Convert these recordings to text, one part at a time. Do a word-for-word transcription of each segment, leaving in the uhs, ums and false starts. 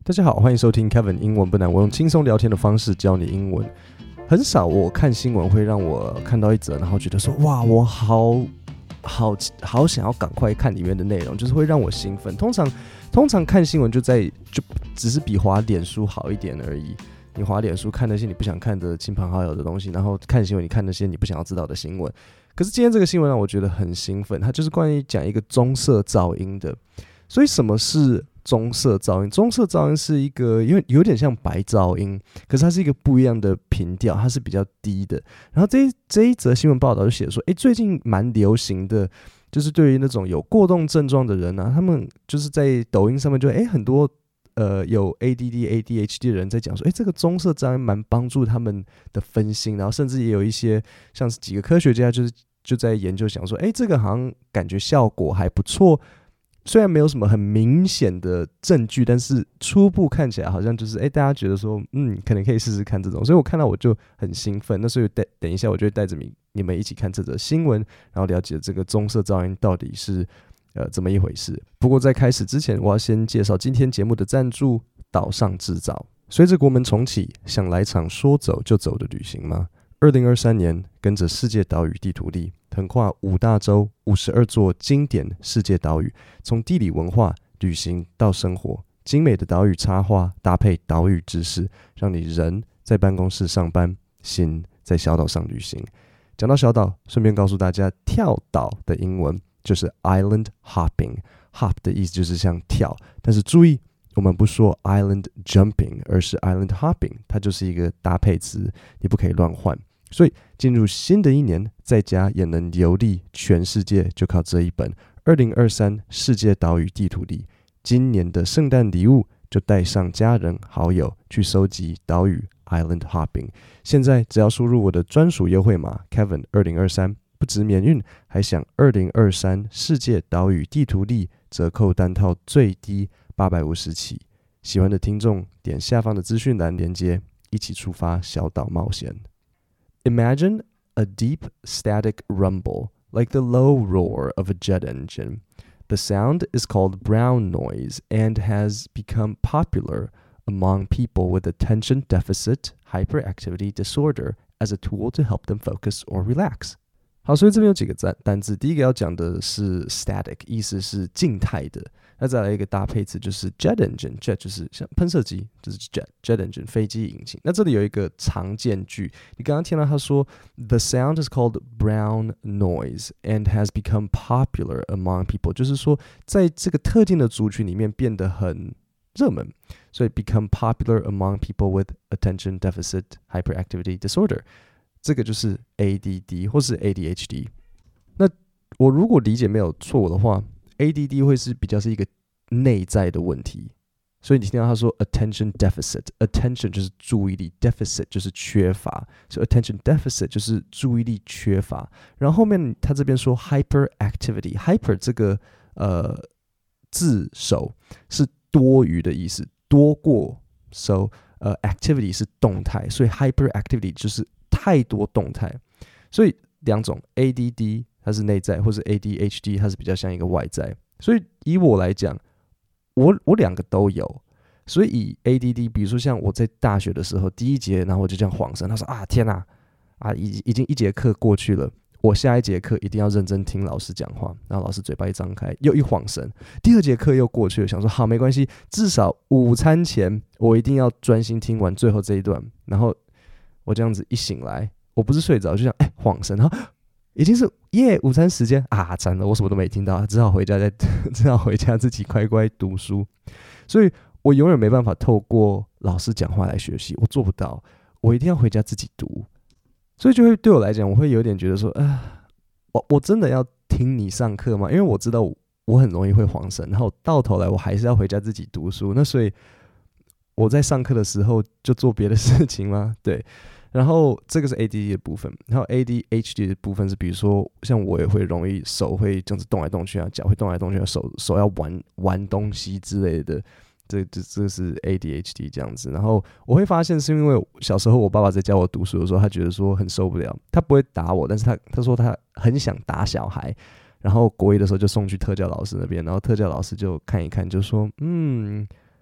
大家好，歡迎收聽 Kevin 英文不難，我用輕鬆聊天的方式教你英文。很少我看新聞會讓我看到一則，然後覺得說哇，我好好好想要趕快看裡面的內容，就是會讓我興奮。通常通常看新聞就在就只是比滑臉書好一點而已。你滑臉書看那些你不想看的親朋好友的東西，然後看新聞你看那些你不想要知道的新聞。可是今天這個新聞讓我覺得很興奮，它就是關於講一個棕色噪音的。所以什麼是棕色噪音？棕色噪音是一個因為有點像白噪音，可是它是一個不一樣的頻調，它是比較低的。然後這一這一則新聞報道就寫說，誒，最近蠻流行的，就是對於那種有過動症狀的人啊，他們就是在抖音上面就誒很多呃有 A D D、A D H D 的人在講說，誒，這個棕色噪音蠻幫助他們的分心，然後甚至也有一些像是幾個科學家就是就在研究想說，誒，這個好像感覺效果還不錯。雖然沒有什麼很明顯的證據，但是初步看起來好像就是，哎，大家覺得說，嗯，可能可以試試看這種，所以我看到我就很興奮。那所以帶等一下，我就會帶着你你們一起看這則新聞，然後了解這個棕色噪音到底是呃怎麼一回事。不過在開始之前，我要先介紹今天節目的贊助——島上製造。隨着國門重啟，想來場說走就走的旅行嗎？二零二三年，跟着世界島嶼地圖力，橫跨五大洲、五十二座經典世界島嶼，從地理文化、旅行到生活，精美的島嶼插畫搭配島嶼知識，讓你人在辦公室上班，心在小島上旅行。講到小島，順便告訴大家，跳島的英文就是 island hopping。Hop 的意思就是像跳，但是注意，我們不說 island jumping， 而是 island hopping， 它就是一個搭配詞，你不可以亂換。所以進入新的一年，在家也能遊歷全世界，就靠這一本二零二三世界島嶼地圖力。今年的聖誕禮物就帶上家人好友去收集島嶼 island hopping。現在只要輸入我的專屬優惠碼 Kevin 二零二三，不只免運，還享二零二三世界島嶼地圖力折扣單套最低八百五十起。喜歡的聽眾點下方的資訊欄連結，一起出發小島冒險。Imagine a deep static rumble, like the low roar of a jet engine. The sound is called brown noise and has become popular among people with attention deficit hyperactivity disorder as a tool to help them focus or relax. 好，所以這邊有幾個單字，第一個要講的是 static， 意思是靜態的。那再來一個搭配詞就是 jet engine，jet 就是像噴射機，就是 jet jet engine 飛機引擎。那這裡有一個常見句，你剛剛聽到他說 The sound is called brown noise and has become popular among people， 就是說在這個特定的族群裡面變得很熱門，所以 become popular among people with attention deficit hyperactivity disorder， 這個就是 A D D 或是 A D H D。那我如果理解沒有錯誤的話，A D D 會是比較是一個內在的問題，所以你聽到他說 attention deficit，attention 就是注意力 ，deficit 就是缺乏，所以 attention deficit 就是注意力缺乏。然後後面他這邊說 hyperactivity，hyper 這個呃字首是多餘的意思，多過 ，so 呃 activity 是動態，所以 hyperactivity 就是太多動態，所以兩種 A D D。它是內在，或是 A D H D， 它是比較像一個外在。所以以我來講，我我兩個都有。所以以 A D D， 比如說像我在大學的時候，第一節，然後我就這樣晃神，他說啊天哪，啊已已經一節課過去了，我下一節課一定要認真聽老師講話。然後老師嘴巴一張開，又一晃神，第二節課又過去了，想說好沒關係，至少午餐前我一定要專心聽完最後這一段。然後我這樣子一醒來，我不是睡着，就想哎晃神，然後已經是耶午餐時間啊！慘了，我什麼都沒聽到，只好回家再只好回家自己乖乖讀書。所以我永遠沒辦法透過老師講話來學習，我做不到，我一定要回家自己讀。所以就會對我來講，我會有點覺得說，啊，我我真的要聽你上課嗎？因為我知道我，我很容易會晃神，然後到頭來我還是要回家自己讀書。那所以我在上課的時候就做別的事情嗎？對。然後這個是 A D D 的部分，然後 A D H D 的部分是，比如說像我也會容易手會這樣子動來動去啊，腳會動來動去啊，手手要玩玩東西之類的，這這這是 A D H D 這樣子。然後我會發現是因為小時候我爸爸在教我讀書的時候，他覺得說很受不了，他不會打我，但是他他說他很想打小孩。然後國一的時候就送去特教老師那邊，然後特教老師就看一看，就說嗯。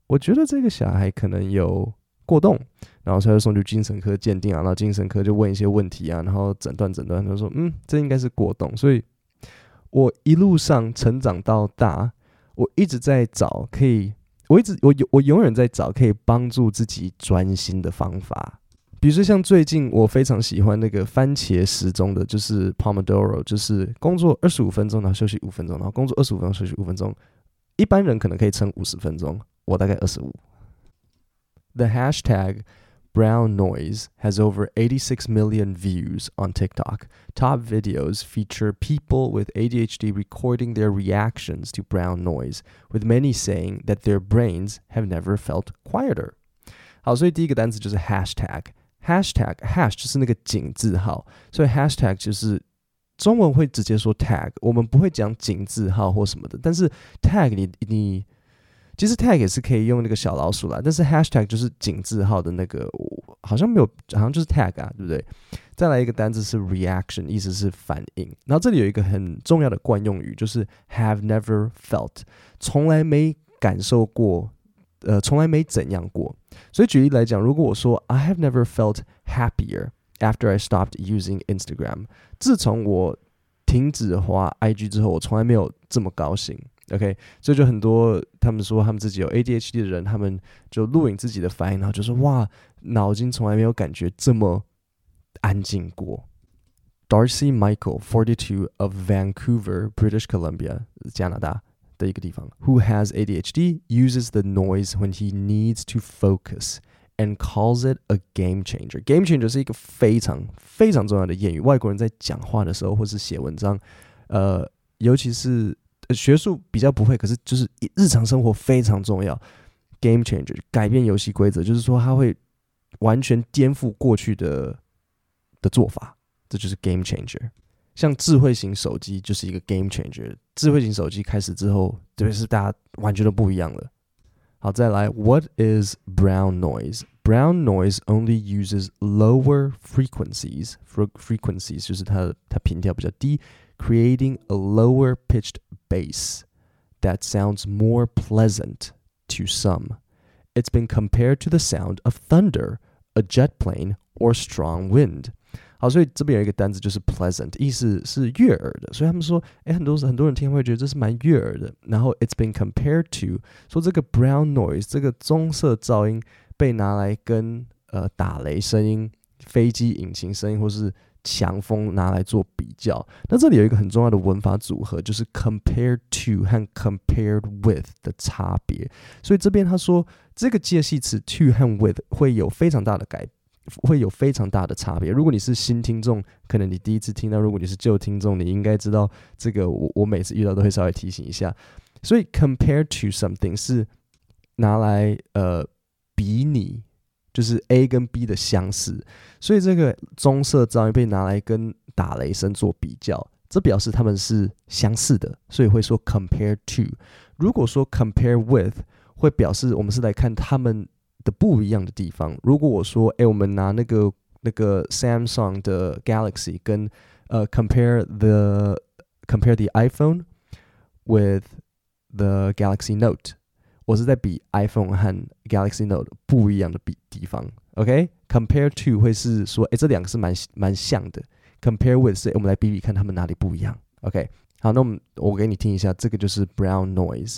我覺得這個小孩可能有過動，然後他就送去精神科鑑定啊，然後精神科就問一些問題啊，然後診斷診斷，他就說嗯，這應該是過動。所以我一路上成長到大，我一直在找可以，我一直我我永遠在找可以幫助自己專心的方法。比如說像最近我非常喜歡那個番茄時鐘的，就是 Pomodoro， 就是工作二十五分鐘，然後休息五分鐘，然後工作二十五分鐘休息五分鐘。一般人可能可以撐五十分鐘，我大概二十五。The hashtag brown noise has over eighty-six million views on TikTok. Top videos feature people with A D H D recording their reactions to brown noise, with many saying that their brains have never felt quieter. 好，所以第一個單詞就是 hashtag。hashtag hash 就是那個井字號，所以 hashtag 就是中文會直接說 tag， 我們不會講井字號或什麼的，但是 tag 你你其實 tag 也是可以用那個小老鼠啦，但是 hashtag 就是井字號的那個，好像沒有，好像就是 tag 啊，對不對？再來一個單字是 reaction， 意思是反應，然後這裡有一個很重要的慣用語，就是 have never felt， 從來沒感受過。呃，從來沒怎樣過。所以舉例來講，如果我說 I have never felt happier after I stopped using Instagram， 自從我停止滑 I G 之後，我從來沒有這麼高興。OK， 所以就很多他們說他們自己有 A D H D 的人，他們就錄影自己的反應，然後就說哇，腦筋從來沒有感覺這麼安靜過。Darcy Michael, forty-two, of Vancouver, British Columbia, 加拿大的一個地方 who has A D H D, uses the noise when he needs to focus and calls it a game changer. Game changer 是一個非常非常重要的諺語，外國人在講話的時候或是寫文章，呃，尤其是、呃、學術比較不會，可是就是日常生活非常重要。Game changer 改變遊戲規則，就是說它會完全顛覆過去的的做法，這就是 game changer。像智慧型手機就是一個 game changer， 智慧型手機開始之後，特別是大家完全都不一樣了。好，再來 ，What is brown noise? Brown noise only uses lower frequencies. Frequencies 就是它它頻調比較低 ，creating a lower pitched bass that sounds more pleasant to some. It's been compared to the sound of thunder, a jet plane, or strong wind.好，所以這邊有一個單字就是 pleasant， 意思是悅耳的，所以他們說，誒，很多很多人聽會覺得這是蠻悅耳的。然後 it's been compared to， 說這個 brown noise， 這個棕色噪音被拿來跟呃打雷聲音、飛機引擎聲音或是強風拿來做比較。那這裡有一個很重要的文法組合，就是 compared to 和 compared with 的差別。所以這邊他說，這個介系詞 to 和 with 會有非常大的改變。會有非常大的差別。如果你是新聽眾，可能你第一次聽到；如果你是舊聽眾，你應該知道這個我。我每次遇到都會稍微提醒一下。所以 compare to something 是拿來呃比擬，就是 A 跟 B 的相似。所以這個棕色噪音被拿來跟打雷聲做比較，這表示他們是相似的，所以會說 compare to。如果說 compare with， 會表示我們是來看他們的不一樣的地方。如果我說，哎，我們拿那個那個 Samsung 的 Galaxy 跟呃 compare the compare the iPhone with the Galaxy Note， 我是在比 iPhone 和 Galaxy Note 不一樣的比地方。OK，compare to 會是說，哎，這兩個是蠻蠻像的。compare with 是我們來比比看他們哪裡不一樣。OK， 好，那我們我給你聽一下，這個就是 brown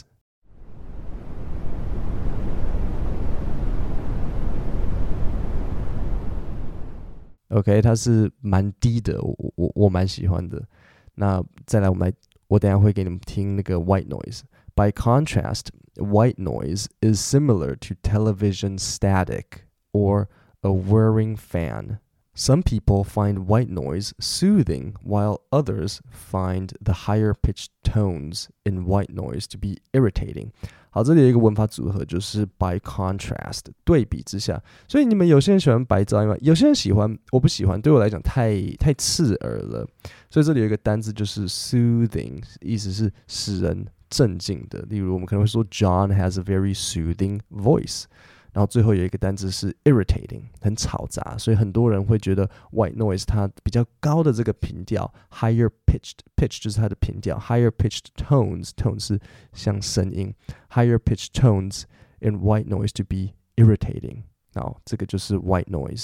noise。OK， 它是蠻低的，我我我蠻喜歡的。那再來，我們來，我等一下會給你們聽那個 white noise。By contrast, white noise is similar to television static or a whirring fan. Some people find white noise soothing, while others find the higher pitched tones in white noise to be irritating. 好，這裡有一個文法組合，就是 by contrast， 對比之下。所以你們有些人喜歡白噪音嗎？有些人喜歡，我不喜歡，對我來講太太刺耳了。所以這裡有一個單字就是 soothing， 意思是使人鎮靜的。例如我們可能會說 John has a very soothing voice。然後最後有一個單字是 irritating， 很吵雜，所以很多人會覺得 white noise 它比較高的這個頻調 higher pitched pitch 就是它的頻調 higher pitched tones tone 是像聲音 higher pitched tones and white noise to be irritating. 好，這個就是 white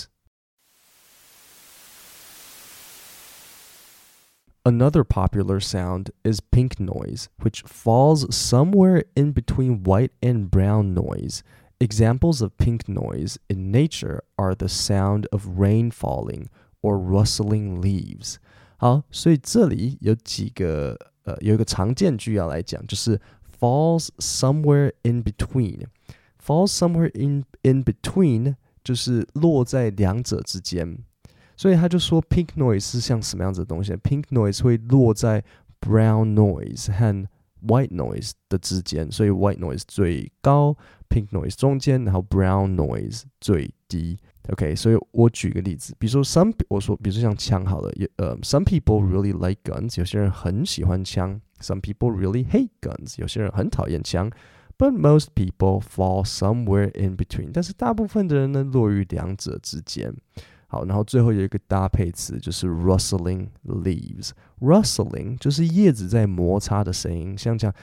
noise.Another popular sound is pink noise, which falls somewhere in between white and brown noise. Examples of pink noise in nature are the sound of rain falling or rustling leaves. 好，所以這裡有幾個呃有一個常見句要來講，就是 falls somewhere in between. Falls somewhere in in between 就是落在兩者之間。所以他就說 pink noise 是像什麼樣子的東西 ？Pink noise 會落在 brown noise 和 white noise 的之間，所以 white noise 最高 ，pink noise 中間，然後 brown noise 最低。OK， 所以我舉個例子，比如說 some 我說，比如說像槍好了，呃、uh, ，some people really like guns， 有些人很喜歡槍 ；some people really hate guns， 有些人很討厭槍。But most people fall somewhere in between， 但是大部分的人呢，落於兩者之間。好，然後最後有一個搭配詞，就是 rustling leaves。rustling 就是葉子在摩擦的聲音，像這樣，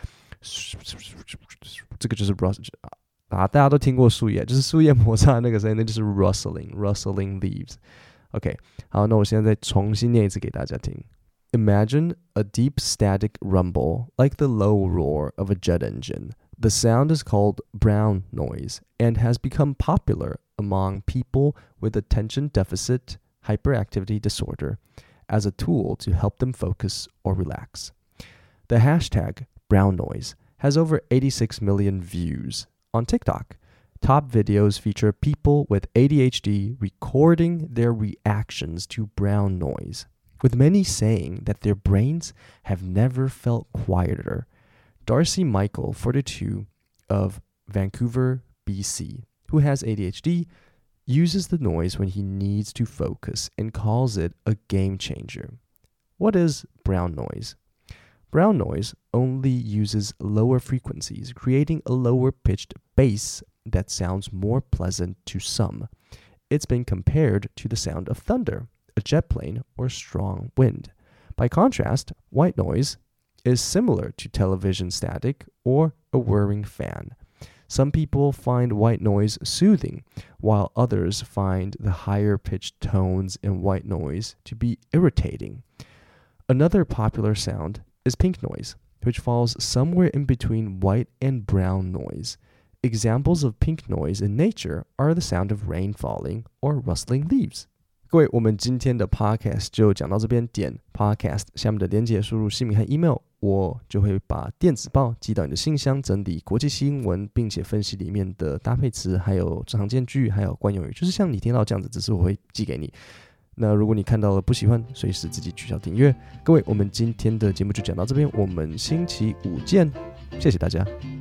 這個就是 rust 啊，大家都聽過樹葉，就是樹葉摩擦的那個聲音，那就是 rustling，rustling leaves。OK， 好，那我現在再重新念一次給大家聽。Imagine a deep static rumble, like the low roar of a jet engine. The sound is called brown noise and has become popular among people with attention deficit hyperactivity disorder as a tool to help them focus or relax. The hashtag brown noise has over eighty-six million views on TikTok. Top videos feature people with A D H D recording their reactions to brown noise, with many saying that their brains have never felt quieter. Darcy Michael, forty-two, of Vancouver, B C, who has A D H D, uses the noise when he needs to focus and calls it a game changer. What is brown noise? Brown noise only uses lower frequencies, creating a lower-pitched bass that sounds more pleasant to some. It's been compared to the sound of thunder, a jet plane, or strong wind. By contrast, white noise is similar to television static or a whirring fan. Some people find white noise soothing, while others find the higher-pitched tones in white noise to be irritating. Another popular sound is pink noise, which falls somewhere in between white and brown noise. Examples of pink noise in nature are the sound of rain falling or rustling leaves. 各位，我們今天的 podcast 就講到這邊，點 podcast 下面的連結，輸入姓名和 email， 我就會把電子報寄到你的信箱，整理國際新聞，並且分析裡面的搭配詞，還有常見句，還有慣用語，就是像你聽到這樣子，只是我會寄給你。那如果你看到了不喜歡，隨時自己取消訂閱。各位，我們今天的節目就講到這邊，我們星期五見，謝謝大家。